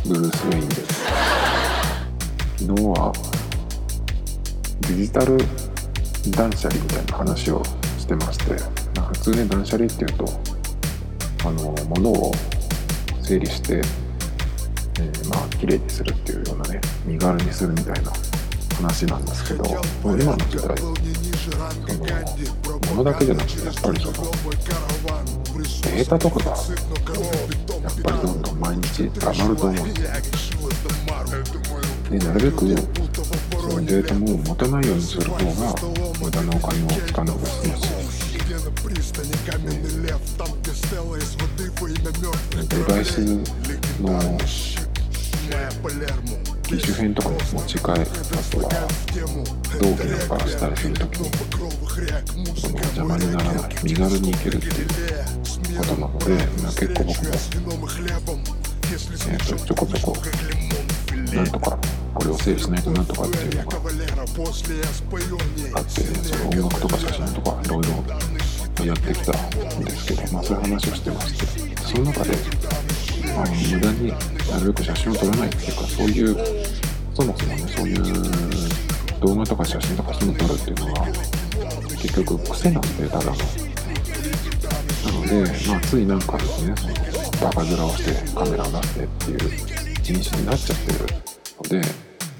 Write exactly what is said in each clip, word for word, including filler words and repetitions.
ブルース・ウェインです。昨日はデジタル断捨離みたいな話をしてまして、まあ、普通ね断捨離っていうとあの物を整理して、えー、まあきれいにするっていうようなね、身軽にするみたいな話なんですけど、今の時代その物だけじゃなくてやっぱりそのデータとかがやっぱりどんどん毎日上がると思うんですよ。でなるべくそのデータも持たないようにする方が無駄なお金を使うのが済むし、デバイスの機種変とかも持ち替え、あとは同期なんかしたりするときにその邪魔にならない、身軽にいけるっていうことなので、まあ、結構僕も、えー、とちょこちょこなんとかこれを整理しないとなんとかっていうのがあって、その音楽とか写真とかいろいろやってきたんですけど、まあそういう話をしてまして、その中で、まあ、無駄になるべく写真を撮らないっていうか、そういうそもそもね、そういう動画とか写真とかそういうの撮るっていうのは結局癖なんで、ただのなので、まあついなんかですね、そのバカ面をしてカメラを出してっていう人種になっちゃってるので、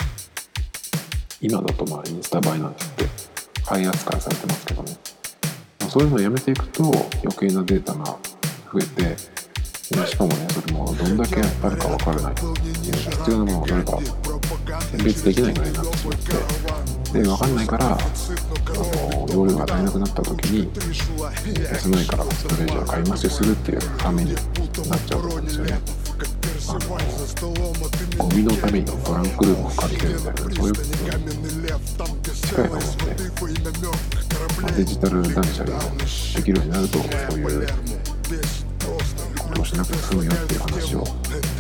今だとまあインスタ映えなんて言ってハイ扱いされてますけどね、まあ、そういうのをやめていくと余計なデータが増えて、しかもね、それもどんだけあるか分からないっていうのが必要なものがどれか選別できないぐらいになってしまって、で分かんないから、あの容量が足りなくなった時に安ないからストレージを買い増しするっていうためになっちゃうと思うんですよね。あのゴミのためにトランクルームを借りてるみたいな、そういう近いと思って、まあ、デジタル断捨離もできるようになると、そういうことをしなくて済むよっていう話を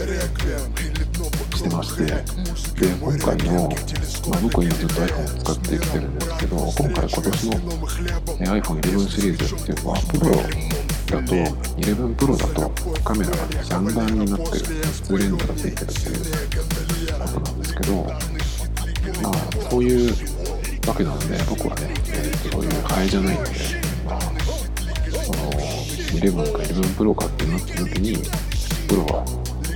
してまして、で今回の、まあ、僕は今ずっと iPhone を使ってきてるんですけど、今回今年の iPhone イレブン シリーズっていうのはプロだとイレブン Pro だとカメラがねさんだんになってる、ふつレンズがついてるっていうことなんですけど、まあそういうわけなので、僕はね、えー、そういうハエじゃないので、まあ、そのイレブンかイレブン Pro かってなった時にプロは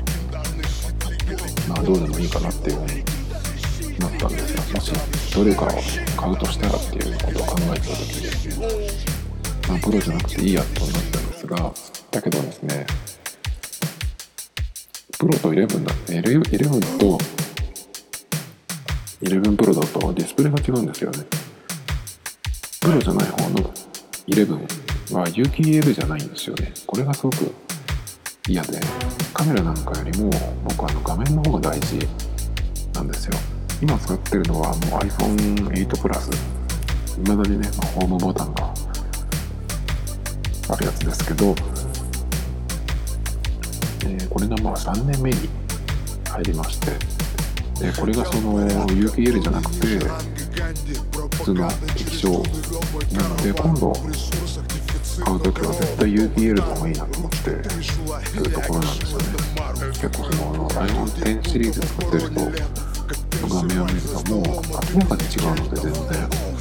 まあどうでもいいかなっていう風になったんですが、もしどれかを買うとしたらっていうことを考えた時に、まあ、プロじゃなくていいやとなったんですが、だけどですね、プロとイレブンだって、イレブンとイレブン Pro だとディスプレイが違うんですよね。プロじゃない方のイレブンは有機 イーエル じゃないんですよね。これがすごく嫌で、カメラなんかよりも僕はあの画面の方が大事なんですよ。今使ってるのはもう アイフォンエイト プラス、未だにね、まあ、ホームボタンがあるやつですけど、えー、これがまあさんねんめに入りまして、でこれがその有機 イーエル じゃなくて普通の液晶なので、今度買うときは絶対 ユーピーエル の方がいいなと思ってるところなんですよね。結構その アイフォンテン シリーズ使ってる人の画面を見るともう明らかに違うので、全然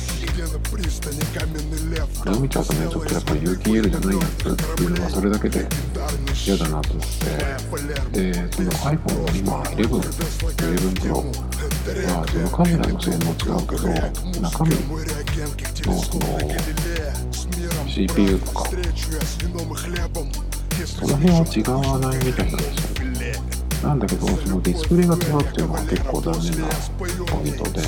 あれを見ちゃうとね、ちょっとやっぱり ユーピーエル じゃないやつっていうのはそれだけで嫌だなと思って、でその iPhone の今イレブン、イレブン Pro はそのカメラの性能違うけど、中身のその シーピーユー とかその辺は違わないみたいなんですよ。なんだけどそのディスプレイが違うっていうのは結構残念なポイントで、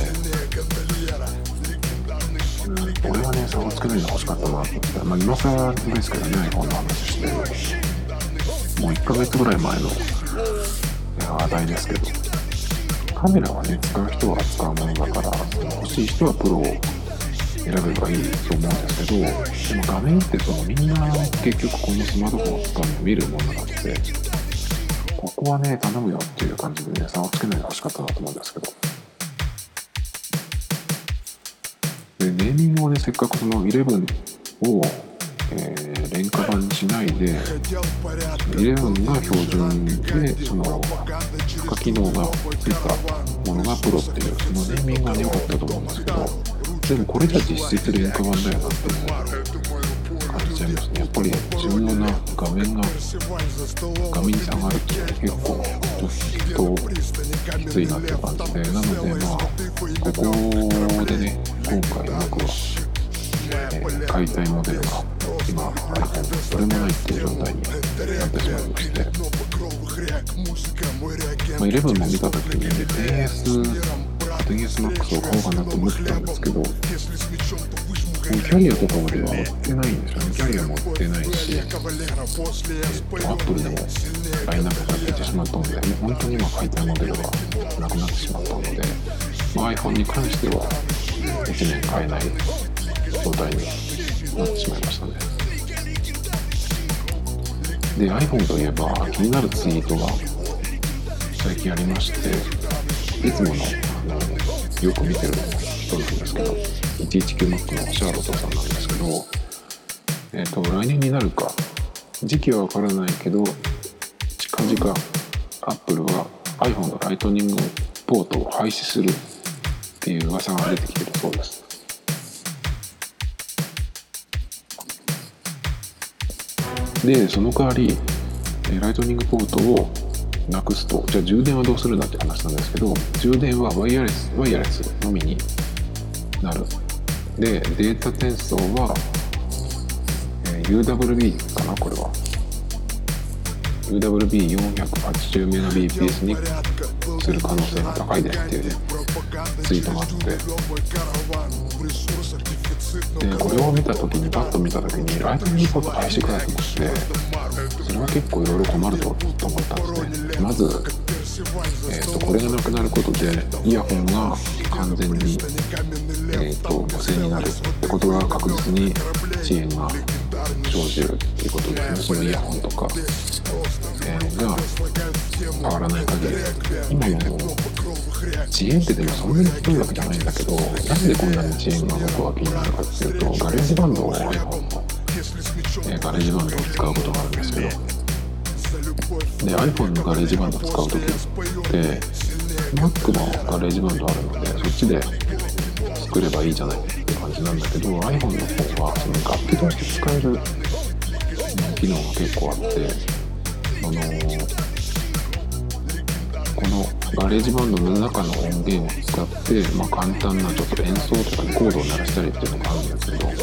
うん、俺はね差をつけないで欲しかったなと思って、まあ今更ですけどね、iPhone の話してもういっかげつぐらい前の話題ですけど、カメラはね使う人は使うものだから、欲しい人はプロを選べばいいと思うんですけど、でも画面ってそのみんな結局このスマートフォンを使うのを見るものなので、ここはね頼むよっていう感じでね差をつけないで欲しかったなと思うんですけど、でネーミングをねせっかくそのイレブンをえー、廉価版にしないでじゅういちが標準でその付加機能がついたものがプロっていうそのネーミングが良かったと思うんですけど、でもこれじゃ実質廉価版だよなっていう感じちゃいますね。やっぱり重要な画面が画面に下がるって結構ちょっときついなっていう感じで、なのでまあここでね今回僕は、えー、買いたいモデルが今 iPhone どれもないっていう状態になってしまいまして、まあ、じゅういちも見た時に テンエス テンエスマックス を買おうかなと思ってたんですけど、キャリアとかまでは売ってないんですよね。キャリアも売ってないし、えー、と Apple でもラインナップが出てしまったので、もう本当に今買いたいモデルがなくなってしまったので、まあ、iPhone に関してはいちねん買えない状態になってしまいましたね。で iPhone といえば気になるツイートが最近ありまして、いつもの、あのよく見てる人なんですけど いちいちきゅうマック のシャーロットさんなんですけど、えっと来年になるか時期はわからないけど近々 Apple は iPhone のライトニングポートを廃止するっていう噂が出てきているそうです。でその代わりライトニングポートをなくすと、じゃあ充電はどうするんだって話なんですけど、充電はワイヤレスワイヤレスのみになる。でデータ転送は、えー、ユーダブリュービー かな、これは ユーダブリュービーよんひゃくはちじゅうメガビーピーエス にする可能性が高いですっていうツイートがあって、でこれを見た時にパッと見た時にライトニングポート廃止かなと思って、それは結構いろいろ困るぞと思ったんですね。まず、えー、とこれがなくなることでイヤホンが完全に、えー、と無線になるってことが確実に遅延が生じるっていうことですね。そのイヤホンとか、えー、が変わらない限り、今の遅延ってでもそんなにひどいわけじゃないんだけど、なんでこんなに遅延が僕は気になるかっていうと、ガレージバンドを iPhone の、えー、ガレージバンドを使うことがあるんですけど、で iPhone のガレージバンドを使うときって Mac もガレージバンドあるのでそっちで作ればいいじゃないっていう感じなんだけど、 iPhone の方はその楽器として使える機能が結構あって、あのーこのガレージバンドの中の音源を使って、まあ、簡単なちょっと演奏とかにコードを鳴らしたりっていうのがあるんですけど、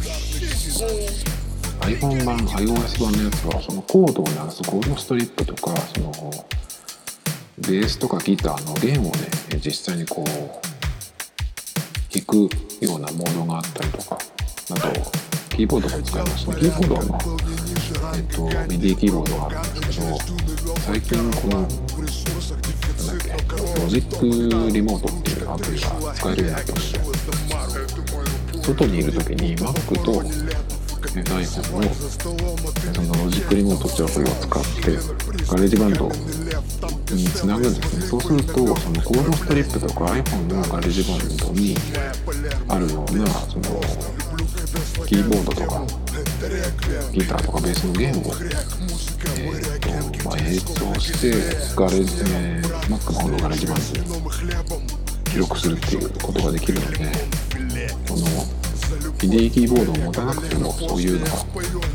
iPhone 版 iOS 版のやつはそのコードを鳴らすコードストリップとか、そのベースとかギターの弦をね実際にこう弾くようなモードがあったりとか、あとキーボードも使いますね。キーボードは、えっと、ミディ キーボードがあるんですけど、最近このなんだっけロジックリモートっていうアプリが使えるようになったので、外にいる時に Mac と iPhone をそのロジックリモートっていうアプリを使ってガレージバンドにつなぐんですね。そうするとそのコードストリップとか iPhone のガレージバンドにあるようなそのキーボードとかギターとかベースの弦を、えーとまあ、演奏してガレージ、えー、Mac の方のガレージバンドに記録するっていうことができるので、そのミディキーボードを持たなくてもそういうのが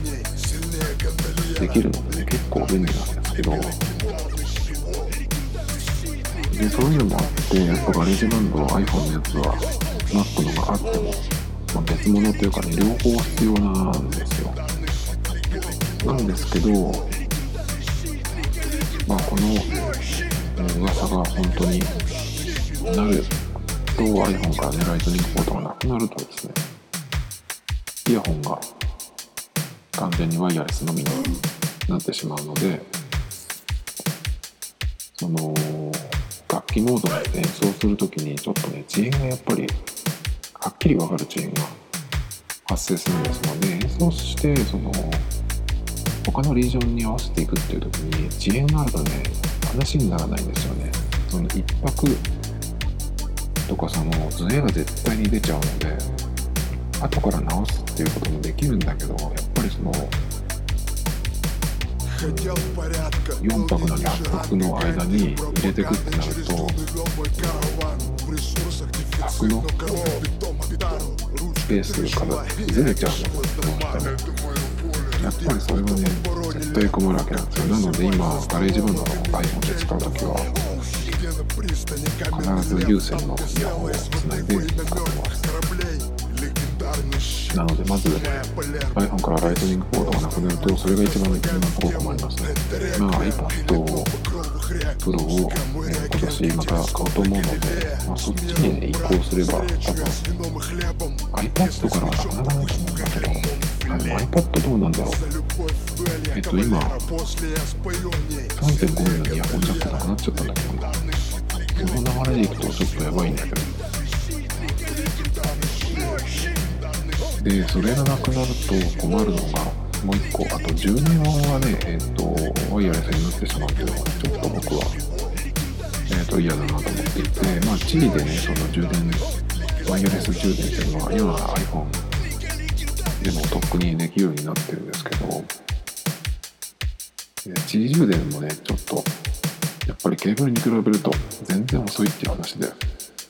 できるので、ね、結構便利なんですけど、でそういうのもあってやっぱガレージバンド iPhone のやつは Mac のがあっても、まあ、別物というかね両方必要なんですよ。なんですけど、まあこの噂が本当になると iPhone からねライトニングポートがなくなるとですね、イヤホンが完全にワイヤレスのみになってしまうので、その楽器モードで演奏するときにちょっとね遅延がやっぱりはっきり分かる遅延が発生するんですので、演奏してその他のリージョンに合わせていくっていうときに遅延があるとね話にならないんですよね。その一拍とかそのズレが絶対に出ちゃうので、 後から直すっていうこともできるんだけど、やっぱりそのよんぱくなりはっぱくの間に入れてくってなると、拍のペースからずれちゃうのかな。やっぱりそれはね、絶対困るわけなんですよ。なので今、ガレージバンドの iPhone で使うときは、必ず有線のイヤホンをつないで使ってます。なのでまず iPhone からライトニングポートがなくなると、それが一番今のところ困りますね。まあ iPad Pro を、えー、今年また買おうと思うので、まあ、そっちに、ね、移行すれば多分 iPad からはなくならないと思うんだけど、あ、でも iPad どうなんだろう。えっと今 さんてんごミリのイヤホンジャックなくなっちゃったんだけど、その流れでいくとちょっとやばいんだけど、でそれがなくなると困るのがもう一個、あと充電はね、えっとワイヤレスになってしまうっていうのがちょっと僕はえっと嫌だなと思っていて、まあチリでね、その充電ワイヤレス充電っていうのは今 iPhone でもとっくにできるようになってるんですけど、チリ充電もねちょっとやっぱりケーブルに比べると全然遅いっていう話で、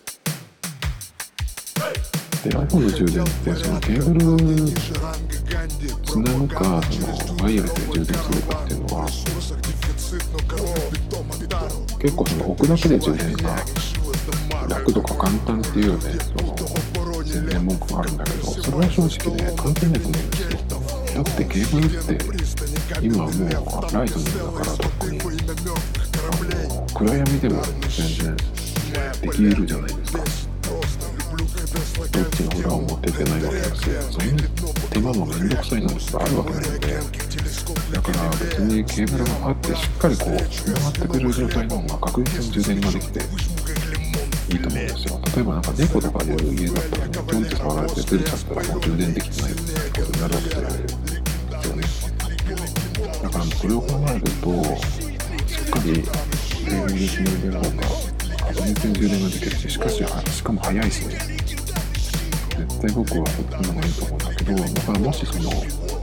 で iPhone の充電ってそのケーブルつなぐかそのワイヤレスで充電するかっていうのは結構その置くだけで充電が楽とか簡単っていうね、その宣伝文句があるんだけど、それは正直ね関係ないと思うんですよ。だってケーブルって今はもうライトニングだから特にあの暗闇でも全然できるじゃないですか。どっちの裏を持っていけないわけですよ。そういう手間もめんどくさいのがあるわけなので、だから別にケーブルがあってしっかりこうつながってくれる状態の方が確実に充電ができていいと思うんですよ。例えばなんか猫とかいう家だったらね、ピョンって触られてずれちゃったらもう充電できてないことになるわけですよね。だからもうそれを考えるとしっかりケーブルでつないでる方が確実に充電ができるし、しかししかも早いしね、絶対僕はそっちの方がいいと思うんだけど、だからもしその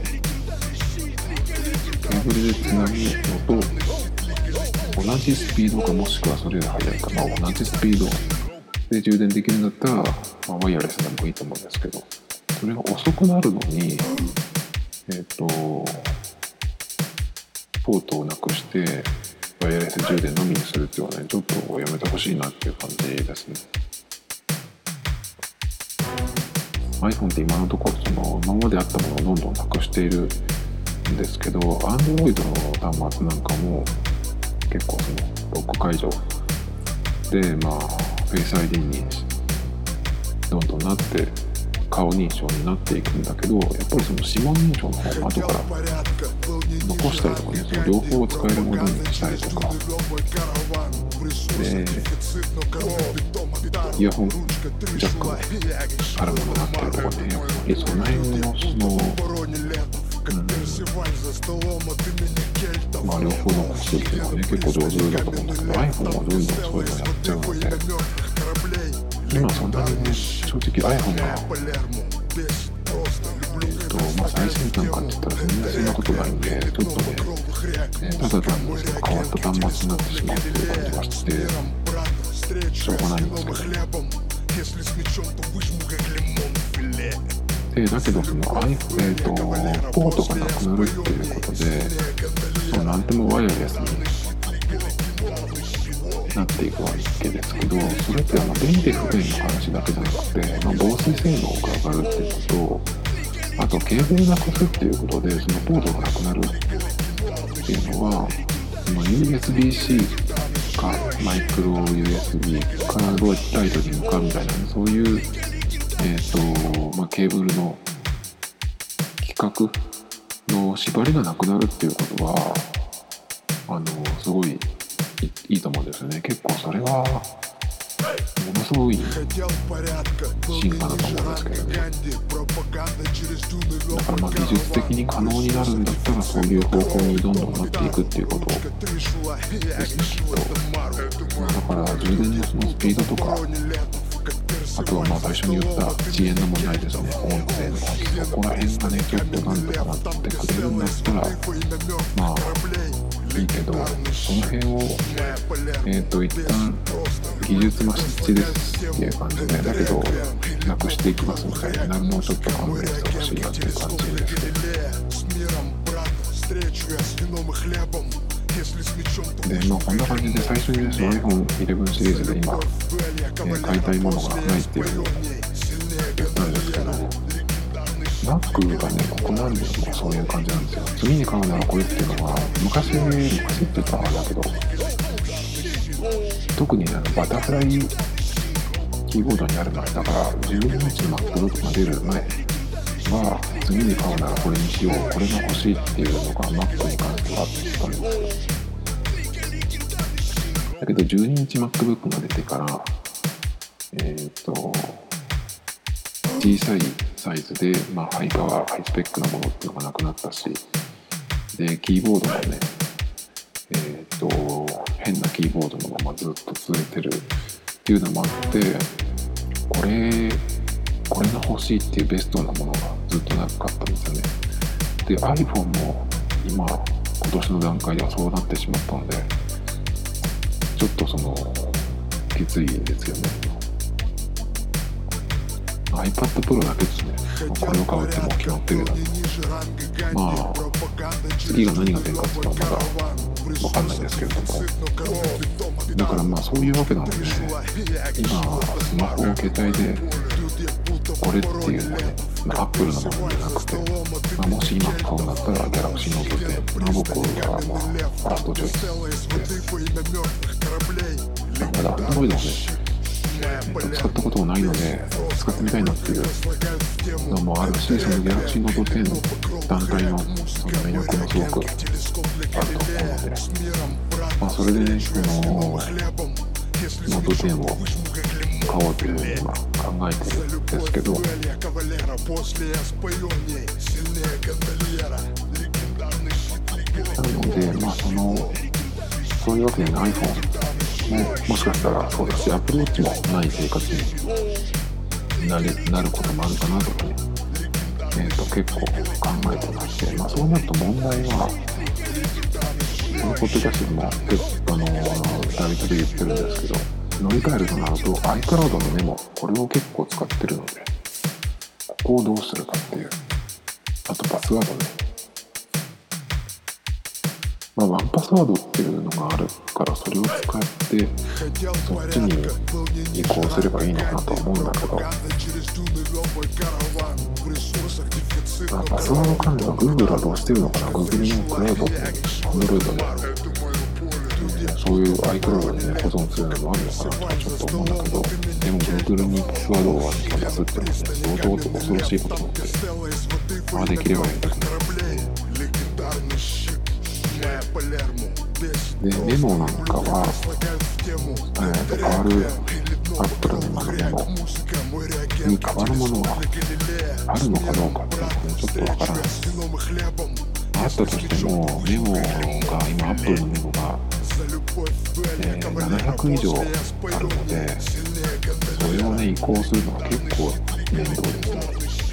ケーブルでつなぐのと同じスピードか、もしくはそれより速いか、まあ、同じスピードで充電できるんだったら、まあ、ワイヤレスでもいいと思うんですけど、それが遅くなるのにえっとポートをなくしてワイヤレス充電のみにするっていうのはね、ちょっとやめてほしいなっていう感じですね。iPhone って今のところその今まであったものをどんどんなくしているんですけど、 Android の端末なんかも結構そのロック解除で、まあ Face アイディー にどんどんなって顔認証になっていくんだけど、やっぱりその指紋認証の方も後から残したりとかね、その両方を使えるものにしたりとかで、イヤホンジャックもあるものになってるとかね、やっぱりその辺のその、うん、まあ両方残すっていうのはね結構上手だと思うんだけど、 iPhone はどんどんそういうのやっちゃうので、今そんなにね正直 iPhone がえっとまあ最先端かって言ったら全然そんなことないんで、ちょっとね、えー、ただ単に変わった端末になってしまうっていう感じがしてしょうがないんですけど、でだけどその iPhone、えー、とポートがなくなるっていうことで、そうなんでもワイヤレスになっていくわけですけど、それってあの電気不便の話だけじゃなくて、まあ、防水性能が上がるっていうことと、あとケーブルなくすっていうことでそのポートがなくなるっていうのは、ユーエスビー-C かマイクロ ユーエスビー かライトニングかみたいな、そういう、えーとまあ、ケーブルの規格の縛りがなくなるっていうことはあのすごいいいと思うんですよね。結構それはものすごい進化だと思うんですけどね。だからまあ技術的に可能になるんだったらそういう方向にどんどんなっていくっていうことですね、きっと。まあ、だから充電のそのスピードとかあとはまあ最初に言った遅延の問題ですね。音声のそこら辺がねちょっとなんとかなってくれるんだったらまあいいけど、その辺をえっと一旦技術マッチですっていう感じで、だけどなくしていきますみたいになるのをちょっと勘弁してほしいなっていう感じですね。でまあこんな感じで最初にねその アイフォンイレブン シリーズで今、えー、買いたいものがないっていうのを言ったんですけど、Mac がねここ何年もそういう感じなんですよ。次に買うならこれっていうのは昔昔って言ったらあれだけど、特にあのバタフライキーボードにある前だからじゅうにインチの MacBook が出る前は次に買うならこれにしよう、これが欲しいっていうのが Mac に関してはあったんですよ。だけどじゅうにインチ MacBook が出てからえっと小さいサイズで、まあ、ハイパワーハイスペックなものっていうのがなくなったし、でキーボードもねえっと変なキーボードのままずっと続いてるっていうのもあって、これこれが欲しいっていうベストなものがずっとなかったんですよね。で iPhone も今今年の段階ではそうなってしまったのでちょっとそのきついんですよね。 iPad Pro だけですね。これを買うってもう決まってるけど、まあ次が何が出るかっていうのはまだ分かんないですけれども、だからまあそういうわけなので、ね、今スマホを携帯でこれっていうのはね、まあ、Apple のものじゃなくて、まあ、もし今買うんだったら Galaxy Note テン、まあ、僕はまあファーストチョイスで、まだ Android もね、えっと、使ったこともないので使ってみたいなっていうのもあるし、その Galaxy Note テン団体のその魅力もすごくあると思うので、まあそれでね、この Note テンを買おうというふうに今考えてるんですけど、なのでまあそのそういうわけで iPhone ももしかしたらそうだし、Apple Watch もない生活になれなることもあるかなとかね、えー、と結構考えてまして、まあ、そうなると問題はこのポッドキャストでも結構あのたびたび言ってるんですけど、乗り換えるとなると iCloud のメモ、これを結構使ってるので、ここをどうするかっていう、あとパスワードね、まあ、ワンパスワードっていうのがあるからそれを使ってそっちに移行すればいいのかなと思うんだけど、まあ、パスワード管理は Google はどうしてるのかな。 Google のクラウドって Android でそういう iCloud に、ね、保存するのもあるのかなとかちょっと思うんだけど、でも Google にパスワードを渡すっていうのはね、相当恐ろしいことなので、まあできればやりたくないですね。でメモなんかは、えー、と変わる Apple の今のメモに変わるものはあるのかどうかっていうのは、ね、ちょっとわからないです。あったとしてもメモが今 Apple のメモが、えー、ななひゃく以上あるので、それをね移行するのは結構面倒ですね。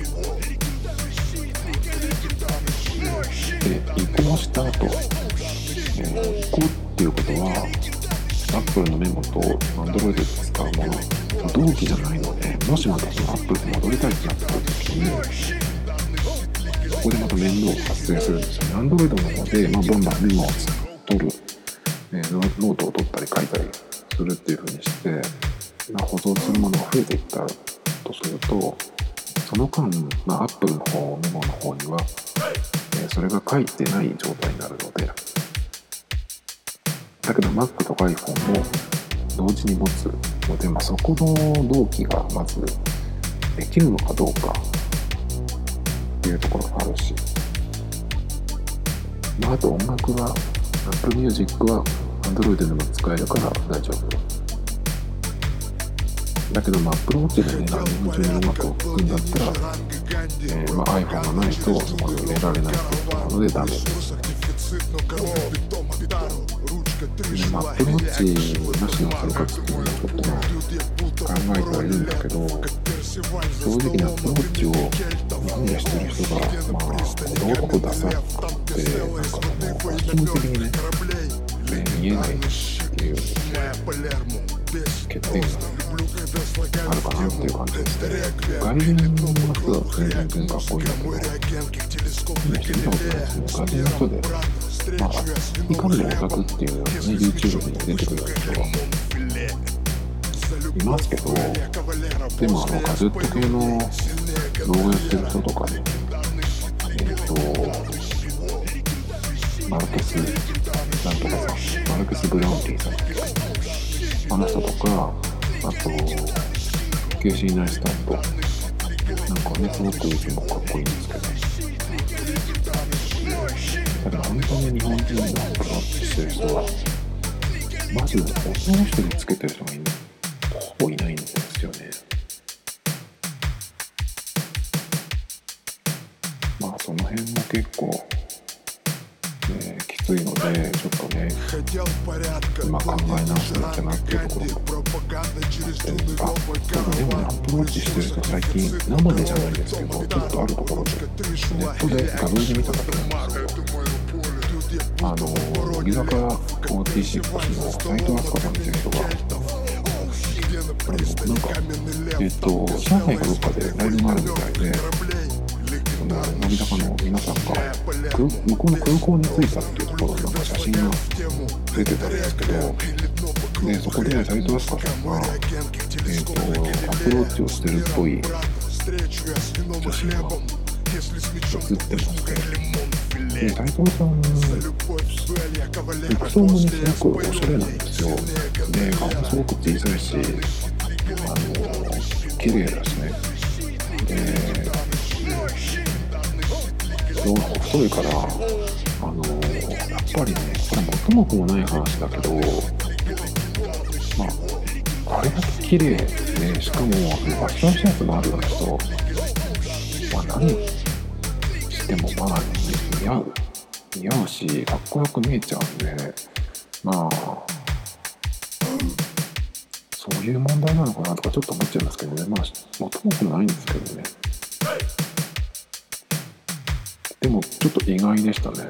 で移行した後えー、移行っていうことは Apple のメモと Android で使うもの同期じゃないので、もしまたその Apple に戻りたいってなった時にここでまた面倒が発生するんですよね。 Android の方で、まあ、バンバンメモを取る、えー、ノートを取ったり書いたりするっていう風にして、まあ、保存するものが増えていったとすると、その間、まあ、Apple の方メモの方にはそれが書いてない状態になるので、だけど Mac とか iPhone も同時に持つので、まあ、そこの同期がまずできるのかどうかっていうところがあるし、まあ、あと音楽は Apple Music は Android でも使えるから大丈夫だけど、まあ、Apple Watch でねランニング中に音楽を聴くんだったら、えーまあ、iPhone がないとそこに入れられないってことなのでダメです。 まあ、アップルウォッチなしの生活っていうのはちょっとまあ考えてはいるんだけど、正直にアップルウォッチを日本でしてる人がまあどこダサってなんかもう気持ち的にね、ね見えないっていう欠点があるかなっていう感じですね。外人の人は全然全然かっこいいんだけど、見たことないですね。外人の人でまあいかにもオタクっていうのはね YouTube に出てくる人がいますけど、でもあのガジェット系の動画やってる人とかね、えっとマルケスなんとかさん、マルケス・ブラウンティーさん、あの人とか、あとケイシー・ナイスターとなんかねすごく息もかっこいいんですけど、だから本当に日本人のアップローチしてる人はまず男の人につけてる人がいないほぼいないんですよね。まあその辺も結構、ね、きついのでちょっとね今考え直しなきゃなっていうところもあってるが、ただでもアップローチしてる人最近生でじゃないですけどちょっとあるところでネットで画像で見ただけなんですけど、あの乃木坂フォーティーシックスの斉藤飛鳥さんっていう人があのなんかえっと上海かどっかでライブがあるみたいで、その乃木坂の皆さんが向こうの空港に着いたっていうところのなんか写真が出てたんですけど、でそこで斉藤飛鳥さんが、えっとアプローチをしてるっぽい写真が写ってまして、で斉藤さん服装もねすごくおしゃれなんですよ。で顔もすごく小さいし、あの綺麗だしね。でそう細いから、あのやっぱりねこれ元も子もない話だけど、まああれだけ綺麗で、しかもファッションセンスもあるような人、まあ何してもまあ似合う似合うしかっこよく見えちゃうんで、まあそういう問題なのかなとかちょっと思っちゃいますけどね。まあ元も子もないんですけどね。でもちょっと意外でしたね。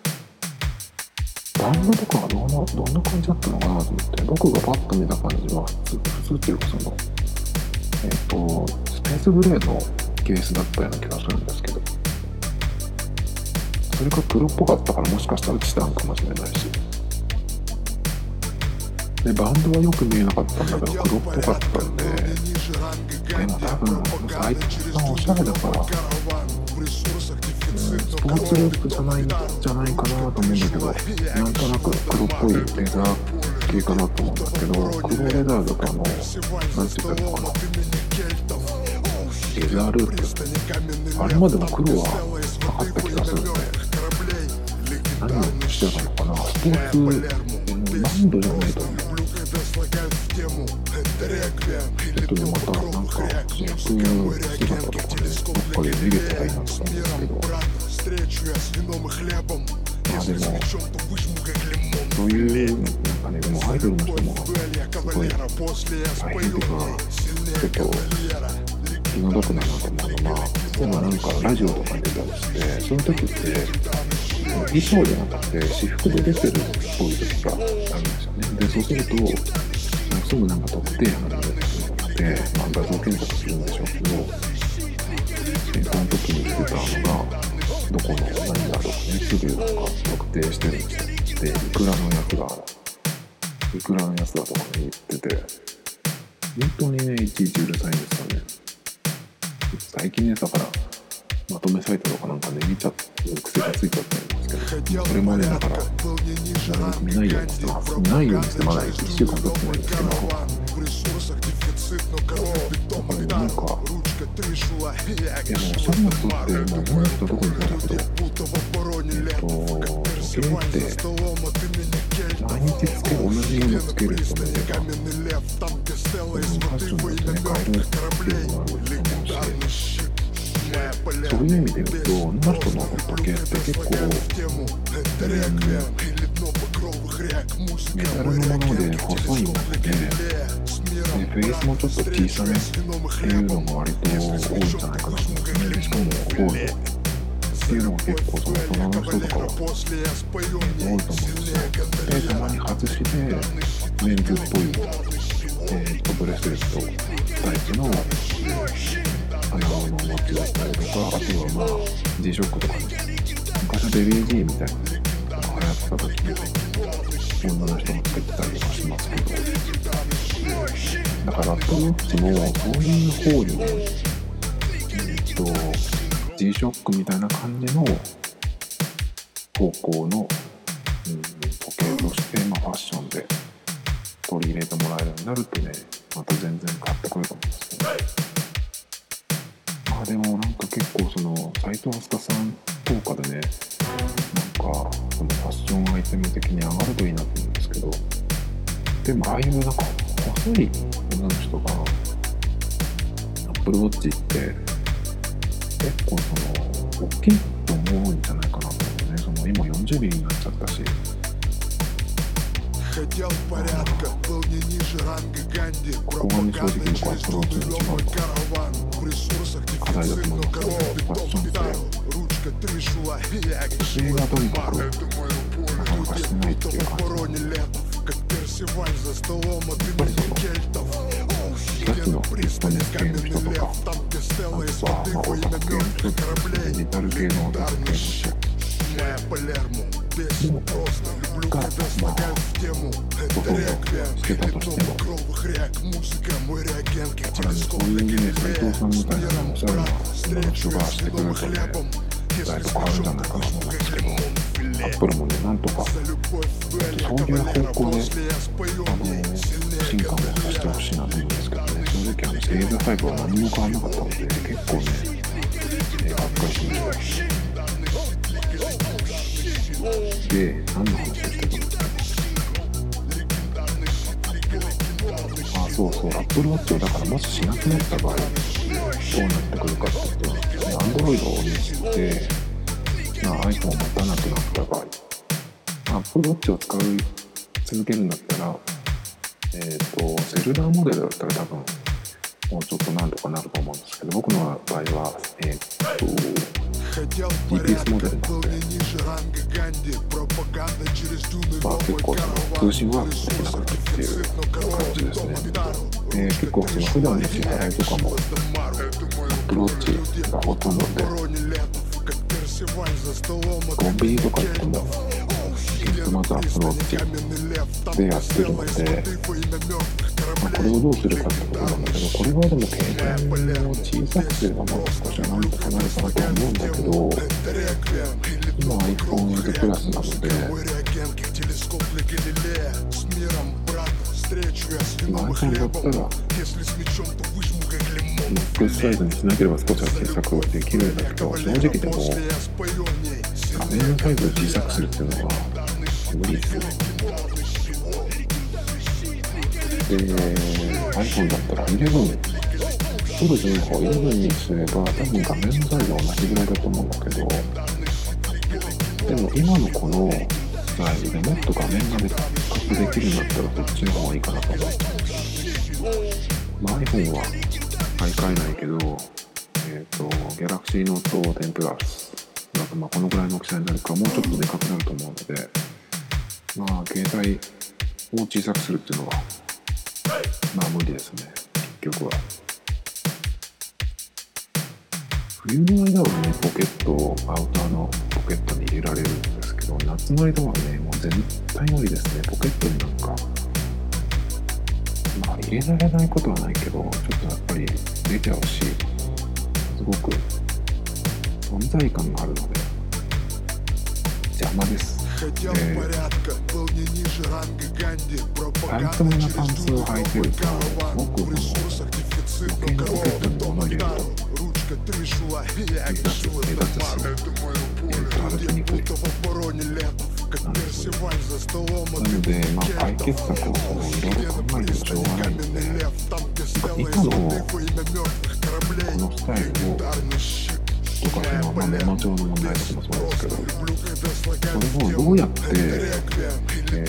バンドとかはどんな、どんな感じだったのかなと思って、僕がパッと見た感じは普通、普通っていうかそのえっとスペースグレーのケースだったような気がするんですけど、それが黒っぽかったからもしかしたらチタンかもしれないし、でバンドはよく見えなかったんだけど黒っぽかったんで、でも多分斉藤さんおしゃれだから、うん、スポーツルックじゃないんじゃないかなと思うんだけど、なんとなく黒っぽいレザー系かなと思うんだけど、黒レザーだとあのなんて言ったのかな、レザーループ、あれまでも黒はかかった気がするんで、何をしてたのかな、スポーツ、うん、バンドじゃないと思う。ちょっとねまたなんか私服姿とかねどっかで見れたらいいなと思うんですけど、まあでもそういうなんかね、でもアイドルの人もすごい大変というかちょっと気の毒だなと思うのは、でもなんかラジオとかに出たりして、その時って衣装じゃなくて私服で出てるっぽい時があるんですよね。でそうするとすぐなんか特定班が出てきて、まあ、画像検索するんでしょうけど、えその時に出たのがどこの何だとかね、すぐなんか特定してるんですよ。でいくらのやつがいくらのやつだとかね言ってて、本当にねいちいちうるさいんですよね。最近ねだからまとめサイトとかなんかね見ちゃう癖がついちゃってるんですけど、それまでだからなるべく見ないようにしてます。見ないようにしてまだいっしゅうかん経ってないんですけど、だからねなんかいやもうおしゃれな人ってもう女の人どこにいるんだけど、えっと女性って毎日つける同じものつける人もいれば、ファッションとしてね変えるっていうのもあると思うし、そういう意味で言うと女の人の時計って結構、うん、 メタルのもので細いもので、でフェイスもちょっと小さめっていうのも割と多いんじゃないかなと思うんですね。でしかもゴールドっていうのが結構その大人の人とかは、えー、多いと思うんですよ。でたまに外してメンズっぽい、えー、とブレスレットタイプの穴の持ちだったりとか、あとはまあ G ショックとかね、昔はベビー G みたいなのが流行った時に女の人もつけてたりとかしますけど、だからアップルウォッチもそういう方に、えー、と G ショックみたいな感じの方向の、うん、時計として、まあ、ファッションで取り入れてもらえるようになるとね、また全然変わってくると思うんですけど、まあでもなんか結構その斉藤飛鳥さん効果でね、なんかそのファッションアイテム的に上がるといいなと思うんですけど、でもああいうなんか細い女の人がアップルウォッチって結構その大きいと思うんじゃないかなと思うね。その今よんじゅうミリになっちゃったし、ここがね正直僕はアプローチの一番の課題だと思いますけど、ファッション性それがとにかくなかなかしてないっていう感じなんで、やっぱりそのガチのフィットネス系の人とか、あとはまあオタク系の人とか、デジタル系のオタク系の人でもが、まあ、ほとんどつけたとしても、だからね、そういうね、斉藤さんみたいなおしゃれな女の人がしてくれるとね、だいぶ変わるんじゃないかなと思うんですけど、アップルもね、なんとかそういう方向で、あの進化をさせてほしいなと思うんですけどね、正直あのシリーズファイブは何も変わらなかったので、結構ね、えー、がっかりしました。で、何の話をしてたんですか。あ、そうそう、Apple Watch をだからもししなくなった場合、どうなってくるかっていうと、Android にして、まあ、iPhone を持たなくなった場合、Apple Watch を使い続けるんだったら、えっと、セルラーモデルだったら多分、もうちょっとなんとかなると思うんですけど、僕の場合は、えっと、ジーピーエス モデルなので、まあ、結構その通信ワークできなくなるっていう感じですね。で、結構その普段の支払いとかも Apple Watch がほとんどで、コンビニとか行っても結局まず Apple Watch でやってるので、まあ、これをどうするかってことなんだけど、これはでも携帯を小さくすればもう少しはなんとかなるかなとは思うんだけど、今 iPhone エイトプラスなので、今 iPhone だったらマックスサイズにしなければ少しは小さくできるんだけど、正直でも画面のサイズを小さくするっていうのは無理ですよね。で、iPhone だったらじゅういち、当時の方じゅういちにすれば多分画面のサイズは同じぐらいだと思うんだけど、でも今のこのサイズでもっと画面がでかくできるんだったらそっちの方がいいかなと思う。まあ、iPhone は買い替えないけど、えっと、Galaxy Note テンプラスだとまあこのぐらいの大きさになるか、もうちょっとでかくなると思うので、まあ携帯を小さくするっていうのはまあ無理ですね、結局は。冬の間はね、ポケット、アウターのポケットに入れられるんですけど、夏の間はね、もう絶対無理ですね。ポケットになんか、まあ入れられないことはないけど、ちょっとやっぱり出ちゃうし、すごく存在感があるので、邪魔です。えー、タイトめなパンツを履いてると、すごくこの余計なポケットに物を入れると目立つ、目立つし、えー、と歩きにくいなんですよ。なので、まあ、解決策をいろいろ考えてもしょうがないので、今のこのスタイルをとかその、まあ、メモ帳の問題とかもそうですけど、それをどうやって、え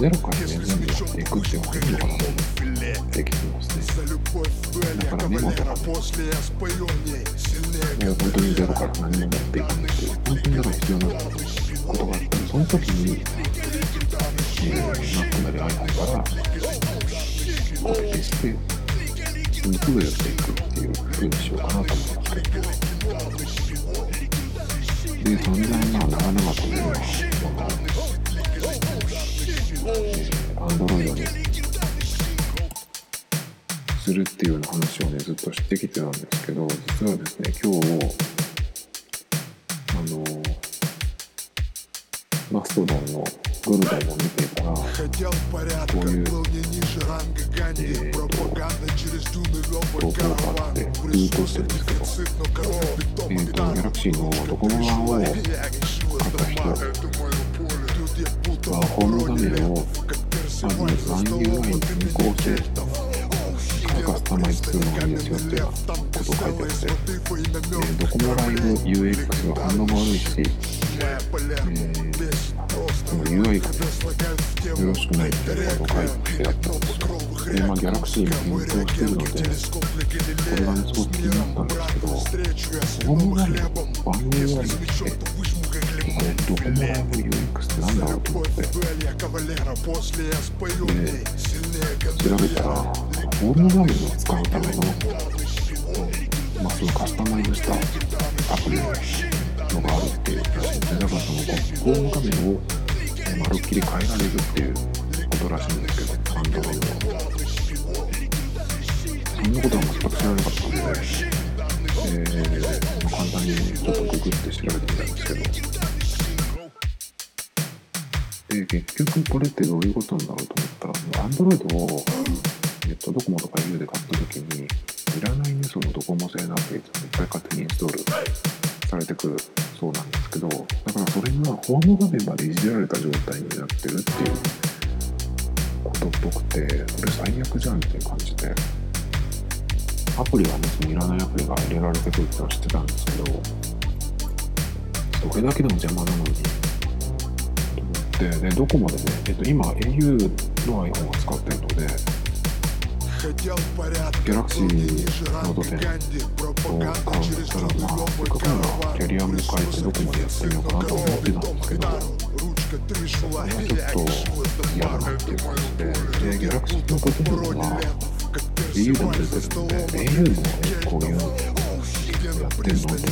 ゼロからね全部やっていくっていうのがいいのかなと思ってきてますね。だからメモとかね、もう本当にゼロから何も持っていくんですけど、本当にだから必要なことがあったらその時に、えー、Mac なり iPhone からコピペしてすぐすぐやっていくっていう風にしようかなと思いますけど、でそんなまあ長々とね、アンドロイドにするっていうような話をねずっとしてきてたんですけど、実はですね今日あのマストドンのグルドンを見ていたら、こういう、えー、と投稿があって、ツイートしてるんですけど、えー、とギャラクシーのドコモ版を買った人はホーム画面をまず ワンユーアイ に移行してカスタマイズするのがいいですよっていうようなことを書いてあって、えー、ドコモライブ ユーエックス は反応も悪いし、えーその ユーアイ がねよろしくないっていうことを書いてあったんですよ。で、まあ、ギャラクシーも変更してるので、これがね、すごく気になったんですけど、ホーム画面、ワンユーアイ って、ドコモライブ ユーエックス ってなんだろうと思って、で、調べたら、ホーム画面を使うための、まあ、そのカスタマイズしたアプリのがあるっていうらしいんで、だからそのホーム画面をまるっきり変えられるっていうことらしいんですけど、アンドロイドはそんなことは全く知らなかったので、えー、簡単にちょっとググって調べてみたんですけど、で結局これってどういうことなんだろうと思ったら、アンドロイドをネットドコモとか ユー で買った時にいらないねそのドコモ製のアプリっていっぱい勝手にインストールされてくるそうなんですけど、だからそれがホーム画面までいじられた状態になってるっていうことっぽくて、これ最悪じゃんっていう感じで、アプリはねそのいらないアプリが入れられてくるってのは知ってたんですけど、それだけでも邪魔なのにと思って、でドコモでね、えっと、今 エーユー の iPhone を使ってるので、ギャラクシーノートテンを買うんだったら、まあ、せっかくならキャリアも変えてどこまでやってみようかなと思ってたんですけど、それはちょっと嫌だなっていう感じで、でギャラクシーノートテンは エーユー でも出てるので、エーユー もこういうのやってるのと思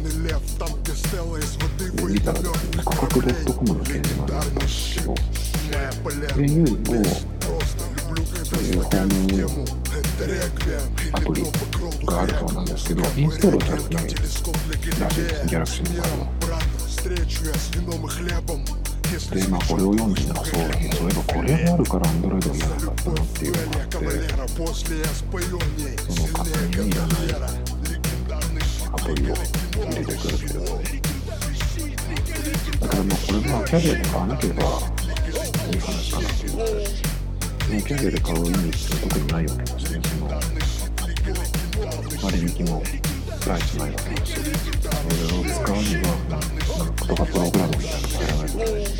ってで見たらですね、価格 .com の掲示板だったんですけど、 エーユー もそういうホームアプリがあるそうなんですけど、インストールはされてないらしいです、ギャラクシーの場合は。で、まあこれを読んでたら、そうだね、そういえばこれがあるから Android が嫌なんだったなっていうのがあって、その勝手にいらないアプリを入れてくるっていうので、だからまあこれはキャリアで買わなければいい話かなっていう。キャリアで買う意味って特にないわけだしね、その割引も大してないわけだし、それを使うにはなんとかプログラムみたいなのをやらないといけない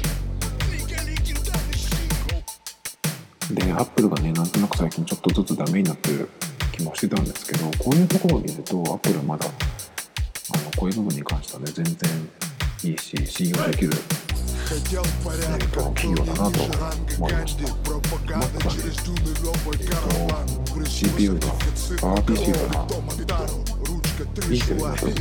で、アップルがねなんとなく最近ちょっとずつダメになってる気もしてたんですけど、こういうところを見るとアップルはまだあのこういう部分に関してはね全然いいし信用できるえー、と企業だなと思いました。Mac がね、えー、と シーピーユー が パワーピーシー からインテルになって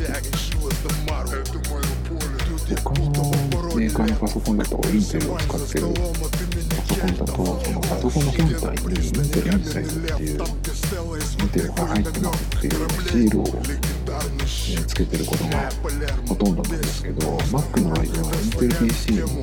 他のメーカーのパソコンだとインテルを使ってるパソコンだと、そのパソコンの本体にインテルインサイズっていうインテルが入ってますっていうシールをつけてることがほとんどなんですけど、 Mac の場合はインテル ピーシー に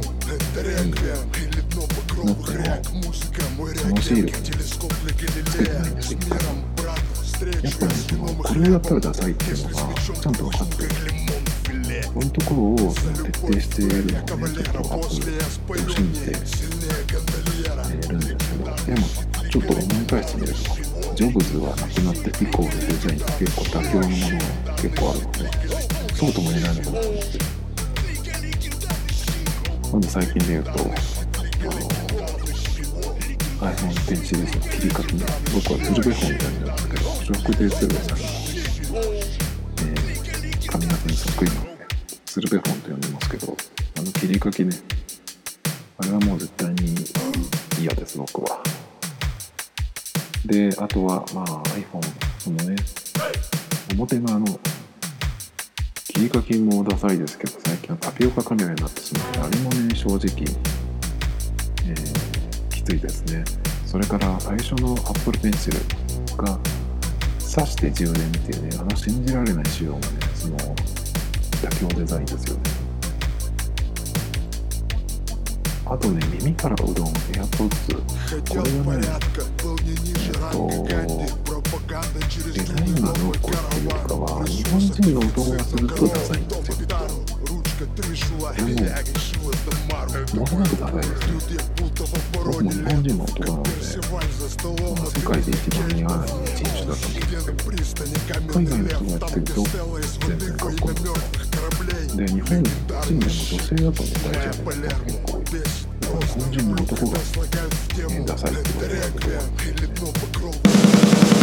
なってもそのシールが、ね、つけてないんですよ。一回もやっぱり、ね、これをやったらダサいっていうのがちゃんと分かってる、こういうところをその徹底しているのをね、ちょっとアップルを信じているんですけど、でもちょっと思い返してみると、ジョブズはなくなって以降のデザインって結構妥協のものが結構あるので、そうとも言えないのかなと思って、なんで最近で言うと、あの iPhone ペンシルの切り書きね、僕は鶴瓶本みたいになるんですけど、笑福亭鶴瓶さんの、えー、髪型にそっくりなので鶴瓶本と呼んでますけど、あの切り書きね、あれはもう絶対に嫌です、僕は。で、あとはまあ iPhone、そのね、表側の切り書きもダサいですけど、最近はタピオカカメラになってしまって、あれもね、正直、えー、きついですね。それから最初の Apple Pencil が挿して充電っていうね、あの信じられない仕様がね、その妥協デザインですよね。あとね、耳からうどん AirPods、これはね、えっとデザインがどうこうっていうよりかは、日本人の男がするとダサいんですよ。これもものすごくダサいですね。僕も日本人の男なので、まあ、世界で一番似合わない人種だと思うんですけど、海外の人がやってると全然かっこいいんですよ。で、日本人でも女性だとね、大丈夫な人が結構多い。日本人の男が、えー、ダサいってことなんで、